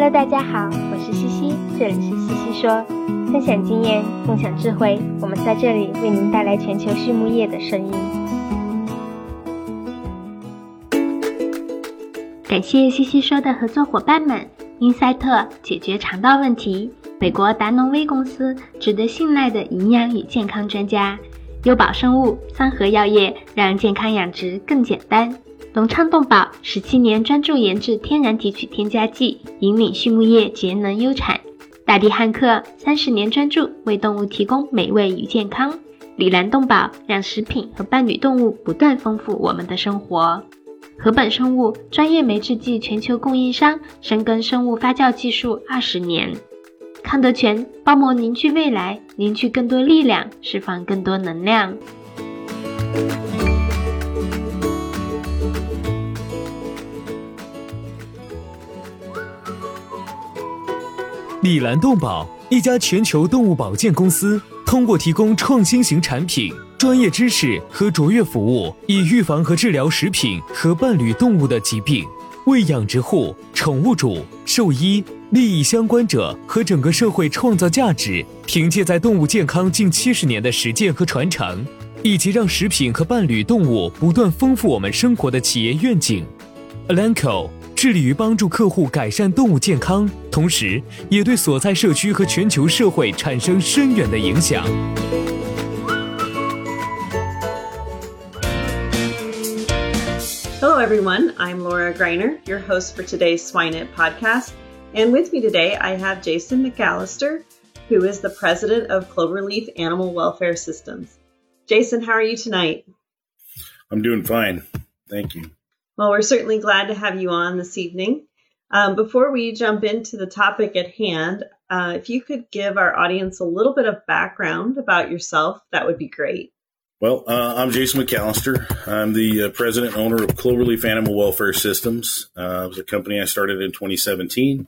Hello， 大家好，我是西西，这里是西西说，分享经验，共享智慧，我们在这里为您带来全球畜牧业的声音。感谢西西说的合作伙伴们，英赛特解决肠道问题，美国达农威公司值得信赖的营养与健康专家，优宝生物、三和药业让健康养殖更简单。隆昌动宝17年专注研制天然提取添加剂，引领畜牧业节能优产。大地汉克30年专注为动物提供美味与健康。里兰动宝让食品和伴侣动物不断丰富我们的生活。禾本生物专业酶制剂全球供应商，深耕生物发酵技术20年。康德全包膜凝聚未来，凝聚更多力量，释放更多能量。 里兰动宝，一家全球动物保健公司，通过提供创新型产品、专业知识和卓越服务，以预防和治疗食品和伴侣动物的疾病，为养殖户、宠物主、兽医、利益相关者和整个社会创造价值。凭借在动物健康近70年的实践和传承，以及让食品和伴侣动物不断丰富我们生活的企业愿景， Elanco致力于帮助客户改善动物健康，同时也对所在社区和全球社会产生深远的影响。 Hello everyone, I'm Laura Greiner, your host for today's SwineNet podcast. And with me today, I have Jason McAllister, who is the president of Cloverleaf Animal Welfare Systems. Jason, how are you tonight? I'm doing fine. Thank you. Well, we're certainly glad to have you on this evening. Before we jump into the topic at hand, if you could give our audience a little bit of background about yourself, that would be great. Well, I'm Jason McAllister. I'm the president and owner of Cloverleaf Animal Welfare Systems. It was a company I started in 2017.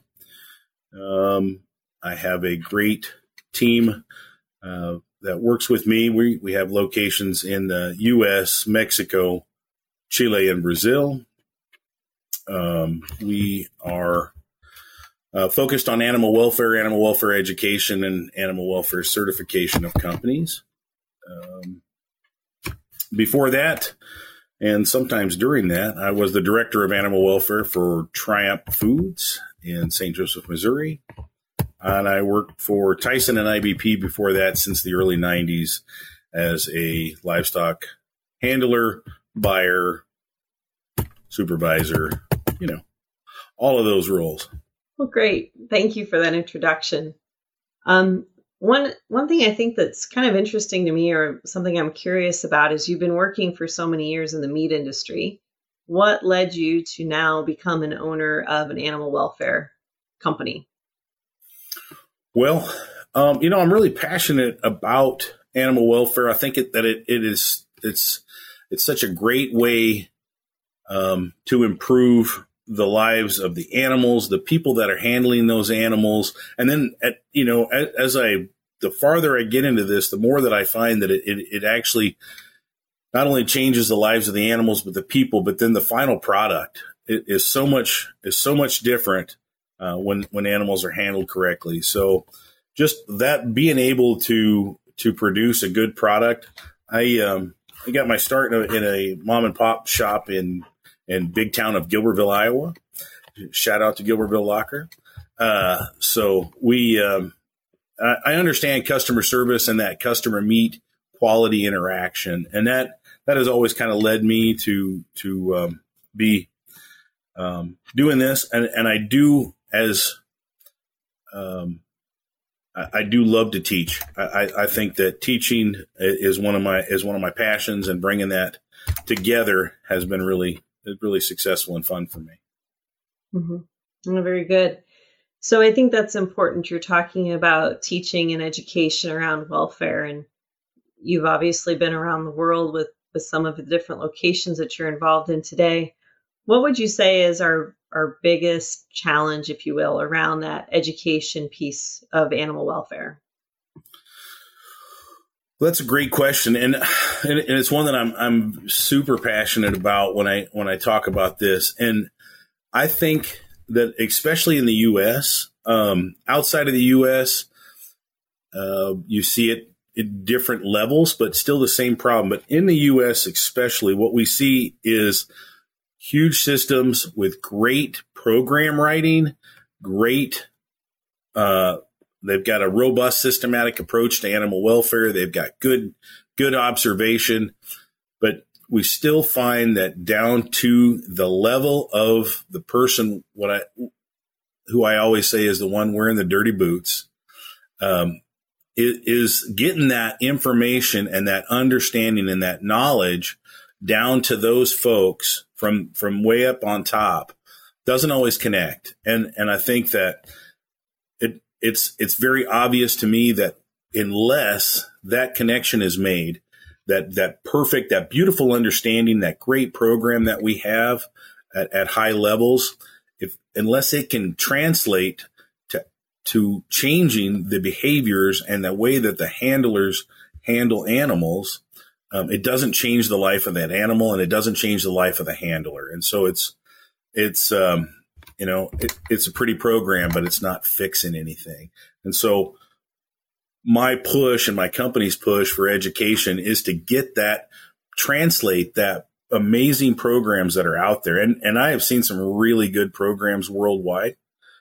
I have a great team that works with me. We have locations in the U.S., Mexico, Chile, and Brazil. We are focused on animal welfare education, and animal welfare certification of companies. Before that, and sometimes during that, I was the director of animal welfare for Triumph Foods in St. Joseph, Missouri. And I worked for Tyson and IBP before that since the early 90s as a livestock handler, buyer, supervisor, all of those roles. Well, great. Thank you for that introduction. One thing I think that's kind of interesting to me, or something I'm curious about, is you've been working for so many years in the meat industry. What led you to now become an owner of an animal welfare company? Well, I'm really passionate about animal welfare. I think it's such a great way to improve the lives of the animals, the people that are handling those animals. And then, the farther I get into this, the more that I find that it actually not only changes the lives of the animals, but the people, but then the final product is so much different when animals are handled correctly. So just that, being able to produce a good product. I got my start in a mom and pop shop in big town of Gilbertville, Iowa. Shout out to Gilbertville Locker. So I understand customer service and that customer meet quality interaction. And that has always kind of led me to be doing this. And I do, I do love to teach. I think that teaching is one of my passions, and bringing that together has been really successful and fun for me. Mm-hmm. Very good. So I think that's important. You're talking about teaching and education around welfare, and you've obviously been around the world with some of the different locations that you're involved in today. What would you say is our biggest challenge, if you will, around that education piece of animal welfare? Well, that's a great question, and it's one that I'm super passionate about when I talk about this. And I think that especially in the U.S., outside of the U.S., you see it at different levels, but still the same problem. But in the U.S. especially, what we see is huge systems with great program writing, great they've got a robust systematic approach to animal welfare. They've got good observation, but we still find that down to the level of the person, who I always say is the one wearing the dirty boots, is getting that information and that understanding and that knowledge down to those folks from way up on top doesn't always connect. And I think that it's very obvious to me that unless that connection is made, that perfect, that beautiful understanding, that great program that we have at high levels, unless it can translate to changing the behaviors and the way that the handlers handle animals, it doesn't change the life of that animal, and it doesn't change the life of the handler. And so it's a pretty program, but it's not fixing anything. And so my push and my company's push for education is to translate that amazing programs that are out there. And I have seen some really good programs worldwide.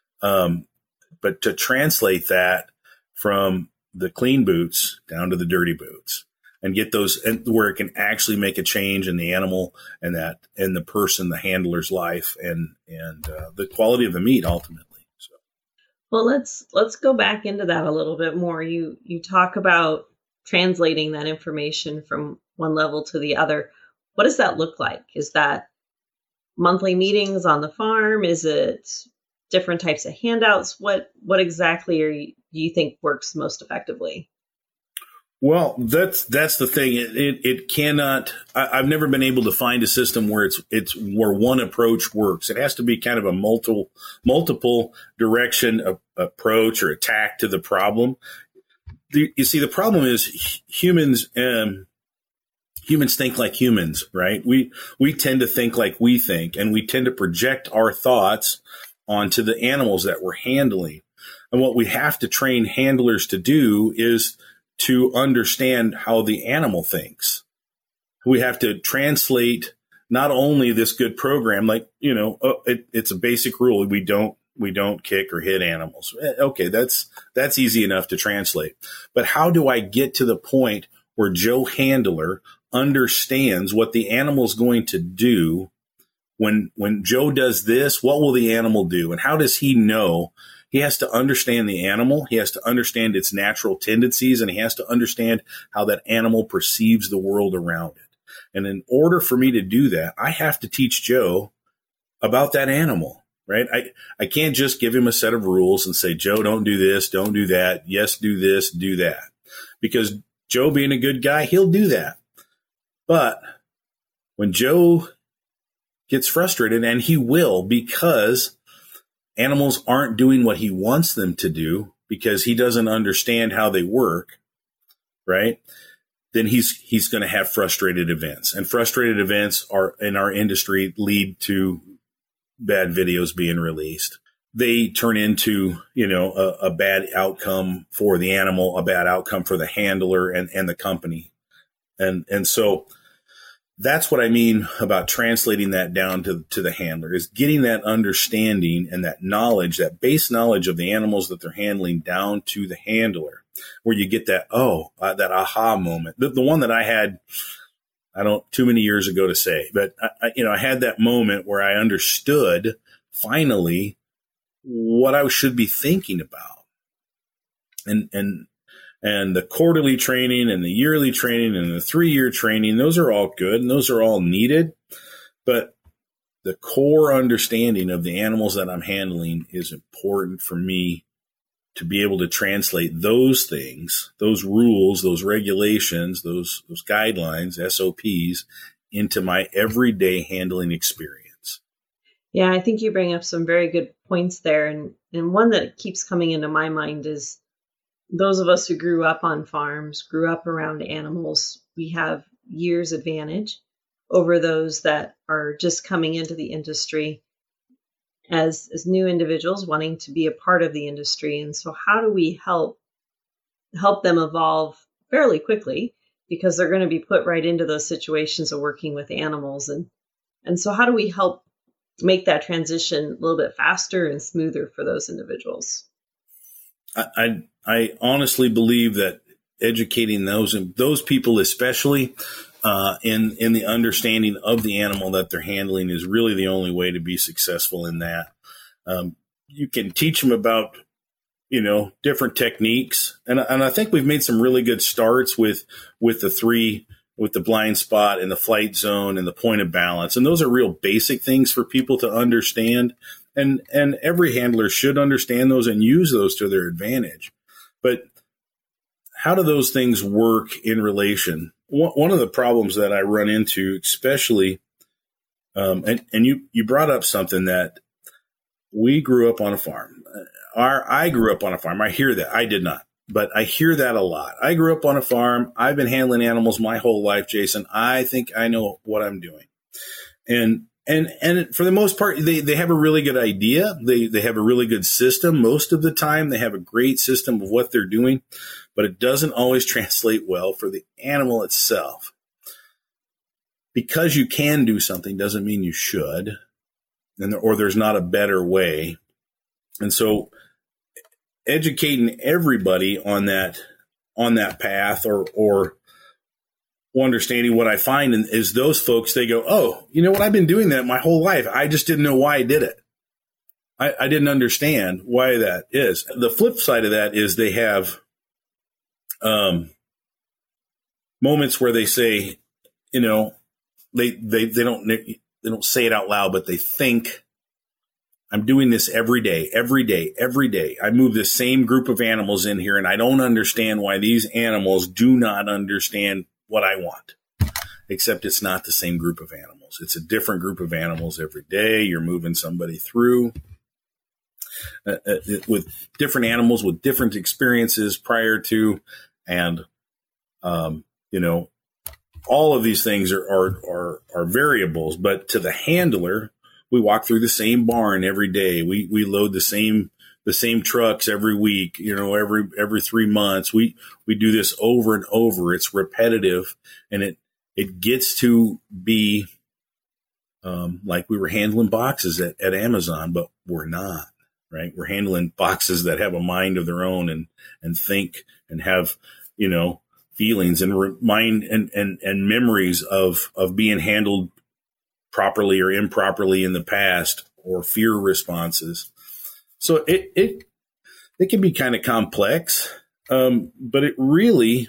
But to translate that from the clean boots down to the dirty boots and get those where it can actually make a change in the animal and the person, the handler's life and the quality of the meat ultimately. So. Well, let's go back into that a little bit more. You talk about translating that information from one level to the other. What does that look like? Is that monthly meetings on the farm? Is it different types of handouts? What exactly do you think works most effectively? Well, that's the thing. It cannot. I've never been able to find a system where it's where one approach works. It has to be kind of a multiple direction approach or attack to the problem. You see, the problem is humans. Humans think like humans, right? We tend to think like we think, and we tend to project our thoughts onto the animals that we're handling. And what we have to train handlers to do is to understand how the animal thinks. We have to translate not only this good program, like, it's a basic rule. We don't kick or hit animals. Okay. That's easy enough to translate. But how do I get to the point where Joe Handler understands what the animal is going to do? When Joe does this, what will the animal do? And how does he know? He has to understand the animal. He has to understand its natural tendencies, and he has to understand how that animal perceives the world around it. And in order for me to do that, I have to teach Joe about that animal, right? I can't just give him a set of rules and say, Joe, don't do this, don't do that. Yes, do this, do that. Because Joe, being a good guy, he'll do that. But when Joe gets frustrated, and he will, because animals aren't doing what he wants them to do because he doesn't understand how they work, right? Then he's going to have frustrated events, and frustrated events are in our industry lead to bad videos being released. They turn into, a bad outcome for the animal, a bad outcome for the handler and the company. And so that's what I mean about translating that down to the handler, is getting that understanding and that knowledge, that base knowledge of the animals that they're handling down to the handler, where you get that, that aha moment. The one that I had, I don't too many years ago to say, but I had that moment where I understood finally what I should be thinking about. And the quarterly training and the yearly training and the 3-year training, those are all good and those are all needed. But the core understanding of the animals that I'm handling is important for me to be able to translate those things, those rules, those regulations, those guidelines, SOPs, into my everyday handling experience. Yeah, I think you bring up some very good points there. And one that keeps coming into my mind is those of us who grew up on farms, grew up around animals, we have years advantage over those that are just coming into the industry. as new individuals wanting to be a part of the industry. And so how do we help them evolve fairly quickly, because they're going to be put right into those situations of working with animals. And so how do we help make that transition a little bit faster and smoother for those individuals? I honestly believe that educating those people, especially in the understanding of the animal that they're handling, is really the only way to be successful in that. You can teach them about, different techniques. And I think we've made some really good starts with the blind spot and the flight zone and the point of balance. And those are real basic things for people to understand. And every handler should understand those and use those to their advantage. But how do those things work in relation? One of the problems that I run into, especially, and you brought up something that we grew up on a farm. I grew up on a farm. I hear that. I did not, but I hear that a lot. I grew up on a farm. I've been handling animals my whole life, Jason. I think I know what I'm doing. And for the most part, they have a really good idea. They have a really good system. Most of the time, they have a great system of what they're doing, but it doesn't always translate well for the animal itself. Because you can do something doesn't mean you should, or there's not a better way. And so educating everybody on that path or understanding what I find is those folks, they go, oh, you know what? I've been doing that my whole life. I just didn't know why I did it. I didn't understand why that is. The flip side of that is they have moments where they say, they don't say it out loud, but they think, I'm doing this every day. I move the same group of animals in here, and I don't understand why these animals do not understand what I want, except it's not the same group of animals. It's a different group of animals every day. You're moving somebody through with different animals with different experiences prior to, and, all of these things are variables, but to the handler, we walk through the same barn every day. We load the same trucks every week, every 3 months. We do this over and over. It's repetitive, and it gets to be like we were handling boxes at Amazon, but we're not, right? We're handling boxes that have a mind of their own and think and have, feelings and mind and memories of being handled properly or improperly in the past, or fear responses. So it can be kind of complex, but it really,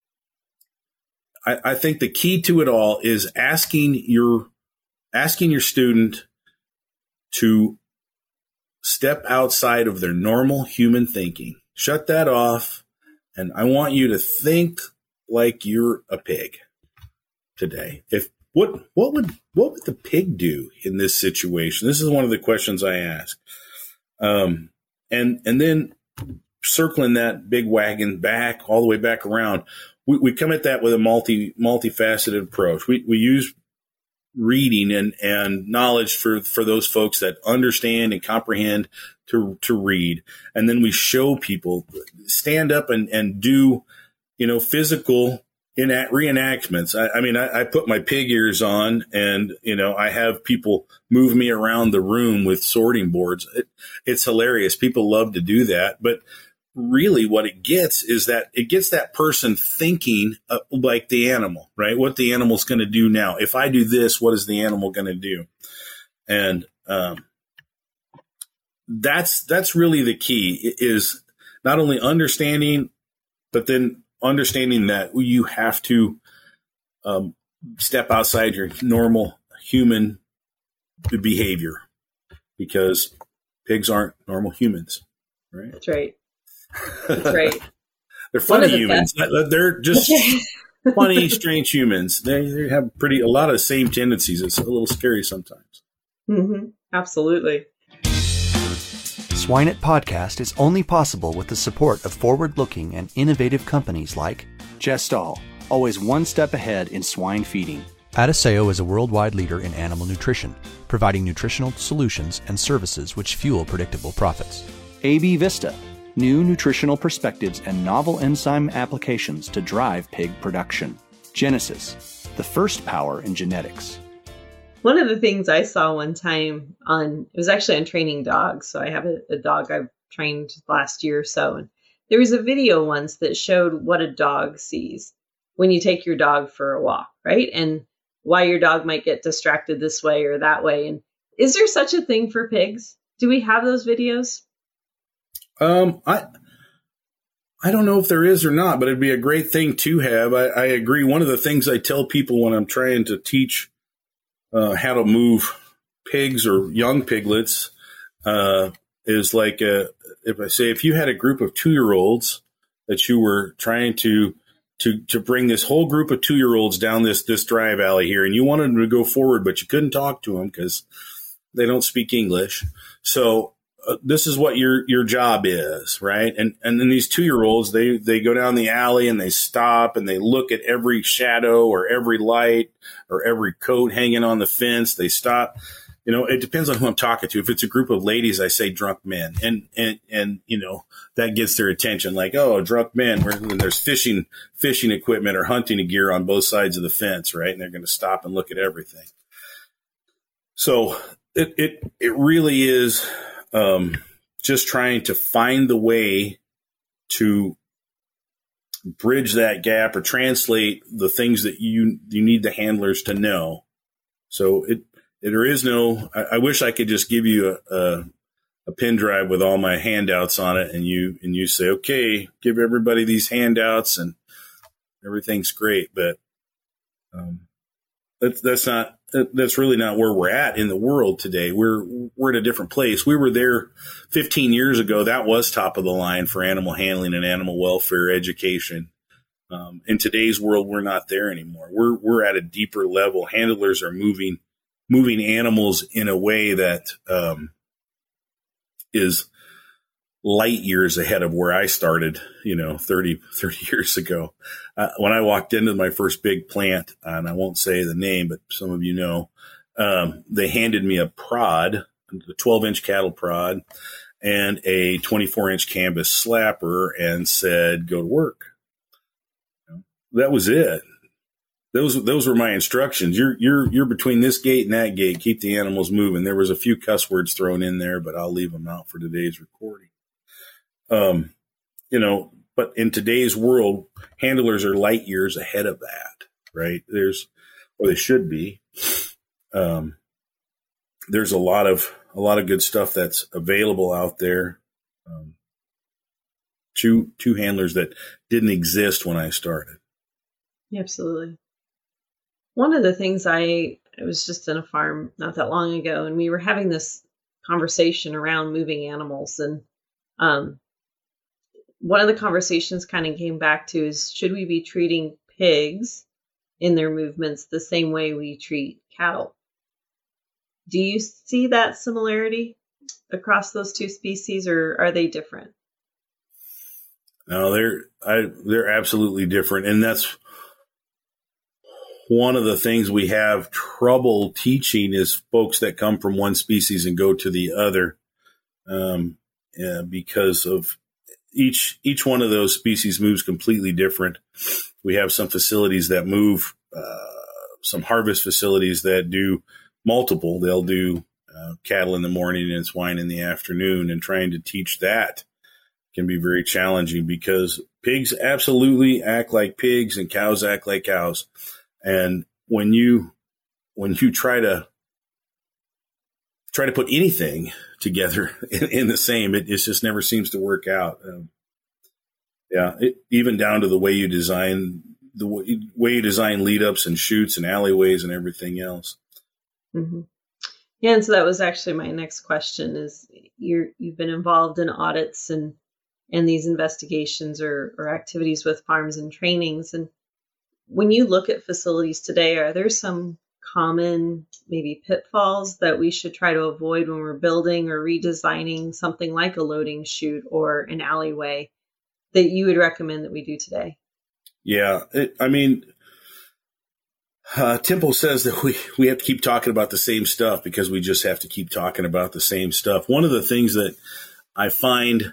I think the key to it all is asking your student to step outside of their normal human thinking. Shut that off, and I want you to think like you're a pig today. What would the pig do in this situation? This is one of the questions I ask. And then circling that big wagon back all the way back around, we come at that with a multifaceted approach. We use reading and knowledge for those folks that understand and comprehend to read. And then we show people, stand up and do, physical reenactments. I put my pig ears on, and, I have people move me around the room with sorting boards. It's hilarious. People love to do that. But really what it gets is that it gets that person thinking like the animal, right? What the animal's going to do now. If I do this, what is the animal going to do? And that's really the key, is not only understanding, but then understanding that you have to step outside your normal human behavior, because pigs aren't normal humans, right? That's right. That's right. They're funny humans. They're just funny, strange humans. They have a lot of the same tendencies. It's a little scary sometimes. Mm-hmm. Absolutely. Swine It Podcast is only possible with the support of forward-looking and innovative companies like Gestal, always one step ahead in swine feeding. Adiseo is a worldwide leader in animal nutrition, providing nutritional solutions and services which fuel predictable profits. AB Vista, new nutritional perspectives and novel enzyme applications to drive pig production. Genesis, the first power in genetics. One of the things I saw one time it was actually on training dogs. So I have a dog I've trained last year or so. And there was a video once that showed what a dog sees when you take your dog for a walk, right? And why your dog might get distracted this way or that way. And is there such a thing for pigs? Do we have those videos? I don't know if there is or not, but it'd be a great thing to have. I agree. One of the things I tell people when I'm trying to teach how to move pigs or young piglets is like if I say, if you had a group of 2-year-olds that you were trying to bring this whole group of 2-year-olds down this drive alley here, and you wanted them to go forward, but you couldn't talk to them because they don't speak English. So this is what your job is, right? And then these 2-year-olds, they go down the alley and they stop and they look at every shadow or every light or every coat hanging on the fence. They stop. You know, it depends on who I'm talking to. If it's a group of ladies, I say drunk men, and you know, that gets their attention. Like, oh, drunk men, when there's fishing equipment or hunting gear on both sides of the fence, right? And they're going to stop and look at everything. So it really is just trying to find the way to bridge that gap or translate the things that you need the handlers to know. So there is no, I wish I could just give you a pen drive with all my handouts on it and you say, okay, give everybody these handouts and everything's great. But that's really not where we're at in the world today. We're in a different place. We were there 15 years ago. That was top of the line for animal handling and animal welfare education. In today's world, we're not there anymore. We're at a deeper level. Handlers are moving animals in a way that is light years ahead of where I started, 30 years ago. When I walked into my first big plant, and I won't say the name, but some of you know, they handed me a prod, a 12-inch cattle prod, and a 24-inch canvas slapper and said, go to work. That was it. Those were my instructions. You're between this gate and that gate. Keep the animals moving. There was a few cuss words thrown in there, but I'll leave them out for today's recording. But in today's world, handlers are light years ahead of that, right? They should be. There's a lot of good stuff that's available out there. To handlers that didn't exist when I started. Absolutely. One of the things I was just in a farm not that long ago, and we were having this conversation around moving animals. And one of the conversations kind of came back to is, should we be treating pigs in their movements the same way we treat cattle? Do you see that similarity across those two species, or are they different? No, they're absolutely different. And that's one of the things we have trouble teaching is folks that come from one species and go to the other, because of each one of those species moves completely different. We have some facilities that move, some harvest facilities that do multiple. They'll do cattle in the morning and swine in the afternoon, and trying to teach that can be very challenging because pigs absolutely act like pigs and cows act like cows. And when you try to put anything together in the same, it just never seems to work out. Even down to the way you design lead ups and chutes and alleyways and everything else. Mm-hmm. Yeah, and so that was actually my next question: is you've been involved in audits and these investigations or activities with farms and trainings, and when you look at facilities today, are there some common maybe pitfalls that we should try to avoid when we're building or redesigning something like a loading chute or an alleyway that you would recommend that we do today? Yeah. Temple says that we have to keep talking about the same stuff because we just have to keep talking about the same stuff. One of the things that I find,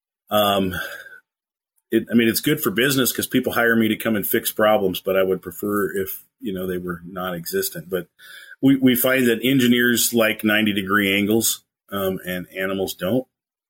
it's good for business because people hire me to come and fix problems, but I would prefer if, they were non-existent. But we find that engineers like 90-degree angles, and animals don't.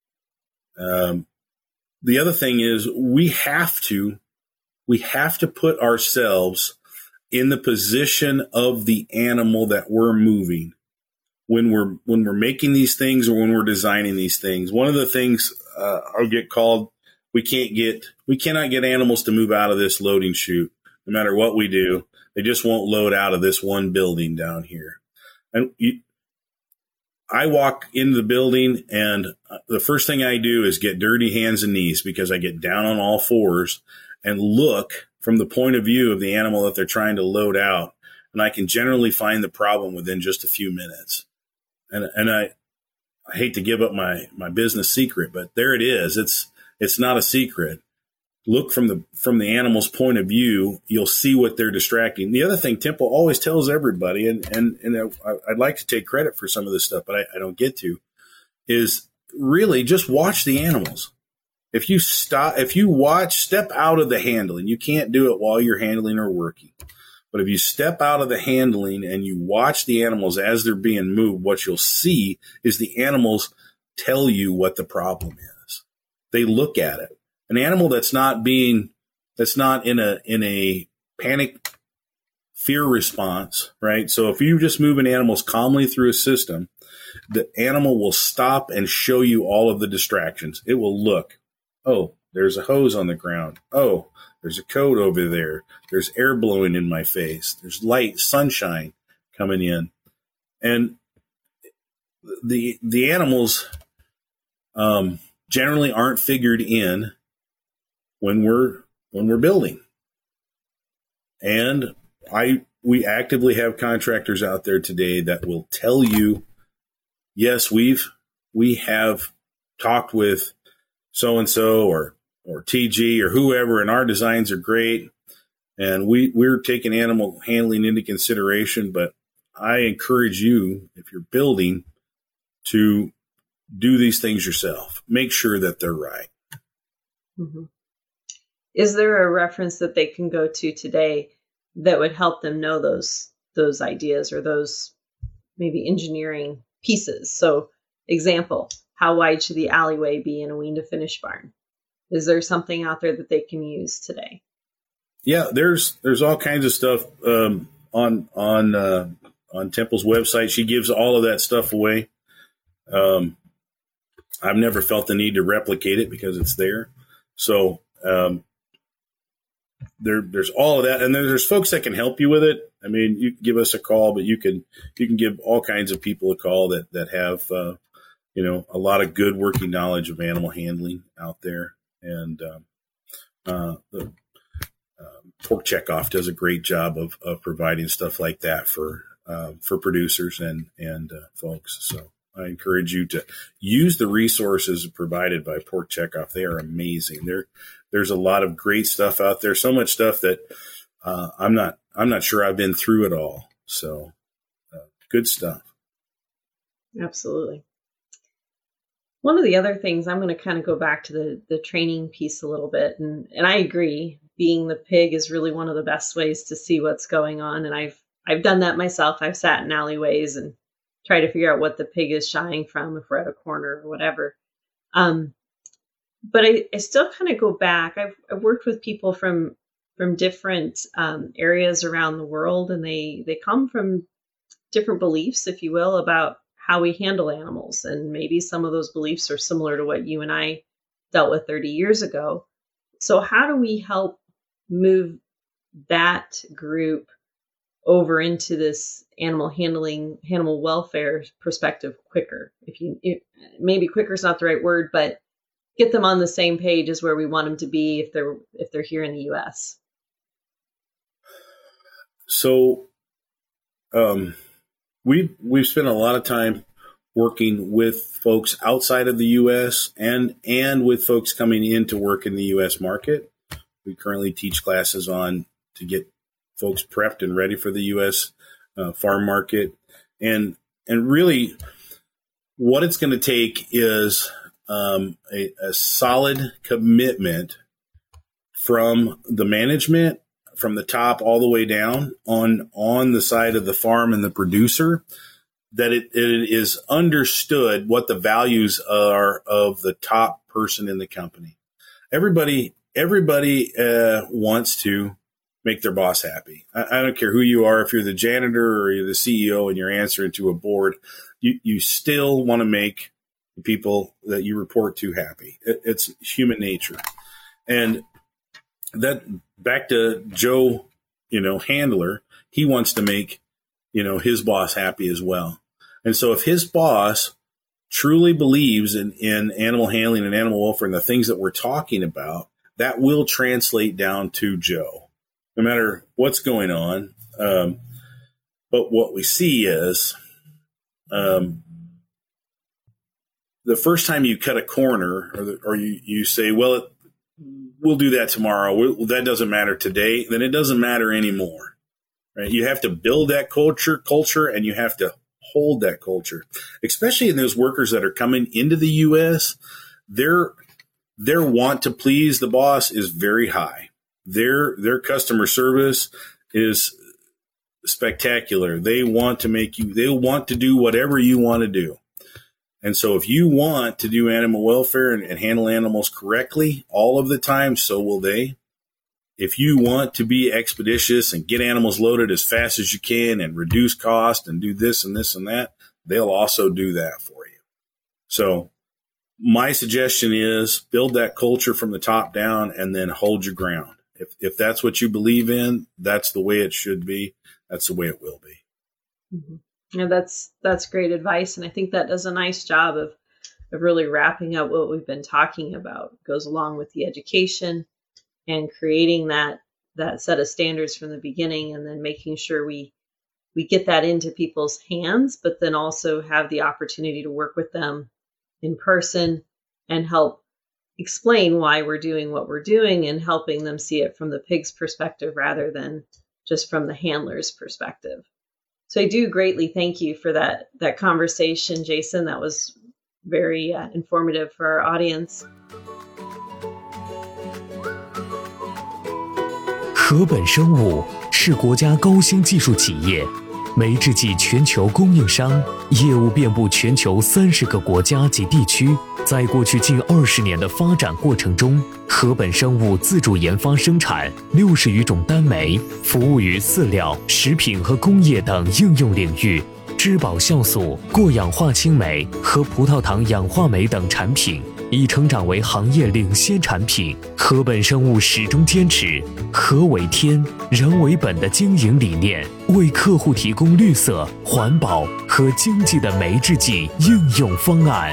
The other thing is we have to put ourselves in the position of the animal that we're moving when we're making these things or when we're designing these things. One of the things I'll get called, we cannot get animals to move out of this loading chute. No matter what we do, they just won't load out of this one building down here. And I walk into the building and the first thing I do is get dirty hands and knees because I get down on all fours and look from the point of view of the animal that they're trying to load out. And I can generally find the problem within just a few minutes. And I hate to give up my business secret, but there it is. It's not a secret. Look from the animal's point of view. You'll see what they're distracting. The other thing Temple always tells everybody, and I'd like to take credit for some of this stuff, but I don't get to, is really just watch the animals. If you step out of the handling, you can't do it while you're handling or working. But if you step out of the handling and you watch the animals as they're being moved, what you'll see is the animals tell you what the problem is. They look at it. An animal that's not in a panic fear response, right? So if you just moving animals calmly through a system, the animal will stop and show you all of the distractions. It will look. Oh, there's a hose on the ground. Oh, there's a coat over there. There's air blowing in my face. There's light, sunshine coming in. And the animals generally aren't figured in when we're building. And we actively have contractors out there today that will tell you, yes, we have talked with so-and-so or TG or whoever, and our designs are great. And we're taking animal handling into consideration, but I encourage you, if you're building, to do these things yourself. Make sure that they're right. Mm-hmm. Is there a reference that they can go to today that would help them know those ideas or those maybe engineering pieces? So, example, how wide should the alleyway be in a wean to finish barn? Is there something out there that they can use today? Yeah, there's all kinds of stuff on Temple's website. She gives all of that stuff away. I've never felt the need to replicate it because it's there. So there's all of that, and there's folks that can help you with it. I mean, you can give us a call, but you can give all kinds of people a call that have a lot of good working knowledge of animal handling out there. And Pork Checkoff does a great job of providing stuff like that for producers and folks. So I encourage you to use the resources provided by Pork Checkoff. They are amazing. There's a lot of great stuff out there. So much stuff that I'm not sure I've been through it all. So good stuff. Absolutely. One of the other things, I'm going to kind of go back to the training piece a little bit. And I agree, being the pig is really one of the best ways to see what's going on. And I've done that myself. I've sat in alleyways and tried to figure out what the pig is shying from if we're at a corner or whatever. But I still kind of go back. I've worked with people from different areas around the world, and they come from different beliefs, if you will, about how we handle animals. And maybe some of those beliefs are similar to what you and I dealt with 30 years ago. So how do we help move that group over into this animal handling, animal welfare perspective quicker? Maybe quicker is not the right word, but get them on the same page as where we want them to be if they're here in the U.S. So, we've spent a lot of time working with folks outside of the U.S. and with folks coming in to work in the U.S. market. We currently teach classes to get folks prepped and ready for the U.S. Farm market. And really what it's going to take is a solid commitment from the management, from the top all the way down on the side of the farm and the producer, that it is understood what the values are of the top person in the company. Everybody wants to make their boss happy. I don't care who you are. If you're the janitor or you're the CEO and you're answering to a board, you still want to make the people that you report to happy. It's human nature. And that, back to Joe, handler, he wants to make, his boss happy as well. And so if his boss truly believes in animal handling and animal welfare and the things that we're talking about, that will translate down to Joe, no matter what's going on. But what we see is the first time you cut a corner or you say, well, we'll do that tomorrow. That doesn't matter today. Then it doesn't matter anymore, right? You have to build that culture, and you have to hold that culture, especially in those workers that are coming into the U.S. Their want to please the boss is very high. Their customer service is spectacular. They want to do whatever you want to do. And so if you want to do animal welfare and handle animals correctly all of the time, so will they. If you want to be expeditious and get animals loaded as fast as you can and reduce cost and do this and this and that, they'll also do that for you. So my suggestion is build that culture from the top down and then hold your ground. If that's what you believe in, that's the way it should be. That's the way it will be. Mm-hmm. Yeah, that's great advice. And I think that does a nice job of really wrapping up what we've been talking about. It goes along with the education and creating that set of standards from the beginning, and then making sure we get that into people's hands, but then also have the opportunity to work with them in person and help explain why we're doing what we're doing, and helping them see it from the pig's perspective rather than just from the handler's perspective. So I do greatly thank you for that conversation, Jason. That was very informative for our audience. 禾本生物是国家高新技术企业，酶制剂全球供应商，业务遍布全球30个国家及地区。在过去近20年的发展过程中，禾本生物自主研发生产60余种单酶，服务于饲料、食品和工业等应用领域。质保酵素、过氧化氢酶和葡萄糖氧化酶等产品已成长为行业领先产品。禾本生物始终坚持禾为天、人为本的经营理念，为客户提供绿色、环保和经济的酶制剂应用方案。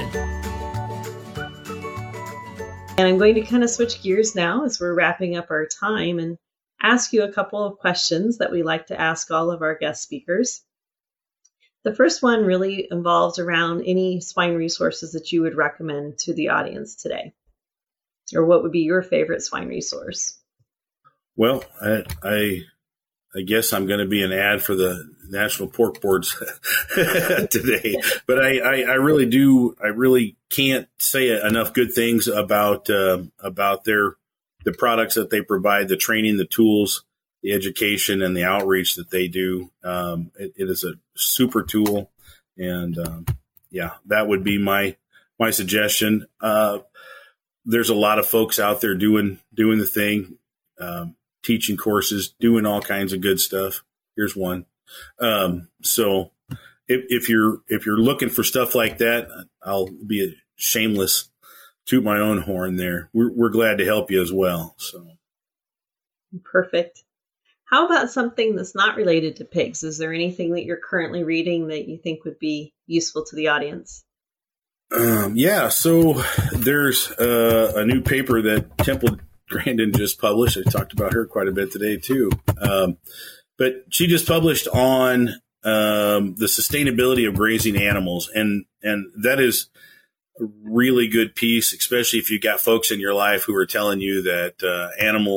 And I'm going to kind of switch gears now as we're wrapping up our time and ask you a couple of questions that we like to ask all of our guest speakers. The first one really involves around any swine resources that you would recommend to the audience today, or what would be your favorite swine resource? Well, I guess I'm going to be an ad for the National Pork Boards today, but I really can't say enough good things about the products that they provide, the training, the tools, the education, and the outreach that they do. It is a super tool, and that would be my suggestion. There's a lot of folks out there doing the thing, teaching courses, doing all kinds of good stuff. Here's one. So if you're looking for stuff like that, I'll be a shameless toot my own horn there. We're glad to help you as well. So perfect. How about something that's not related to pigs? Is there anything that you're currently reading that you think would be useful to the audience? So there's a new paper that Temple Grandin just published. I talked about her quite a bit today too. But she just published on the sustainability of grazing animals, and that is a really good piece, especially if you've got folks in your life who are telling you that animal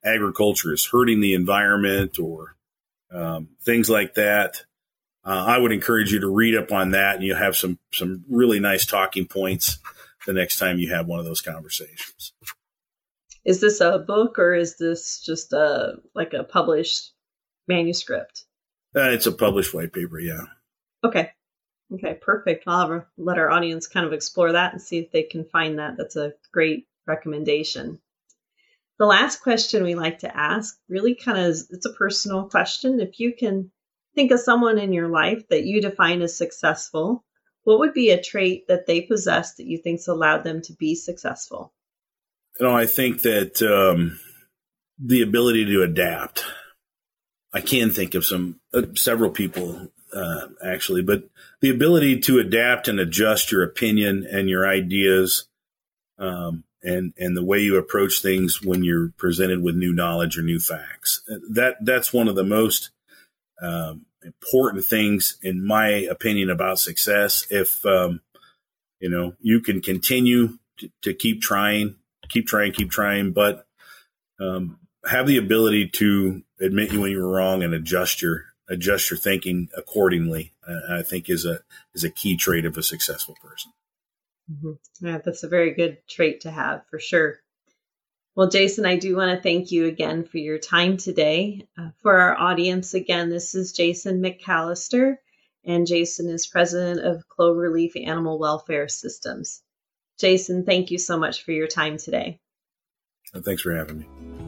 agriculture is hurting the environment or things like that, I would encourage you to read up on that, and you'll have some really nice talking points the next time you have one of those conversations. Is this a book or is this just a published manuscript? It's a published white paper, yeah. Okay, perfect. I'll let our audience kind of explore that and see if they can find that. That's a great recommendation. The last question we like to ask really it's a personal question. If you can think of someone in your life that you define as successful, what would be a trait that they possess that you think's allowed them to be successful? I think that the ability to adapt. I can think of several people actually, but the ability to adapt and adjust your opinion and your ideas, and the way you approach things when you're presented with new knowledge or new facts. That's one of the most important things, in my opinion, about success. If you can continue to keep trying, but have the ability to admit when you're wrong and adjust your thinking accordingly, I think is a key trait of a successful person. Mm-hmm. Yeah, that's a very good trait to have for sure. Well, Jason, I do want to thank you again for your time today. For our audience, again, this is Jason McAllister, and Jason is president of Cloverleaf Animal Welfare Systems. Jason, thank you so much for your time today. Thanks for having me.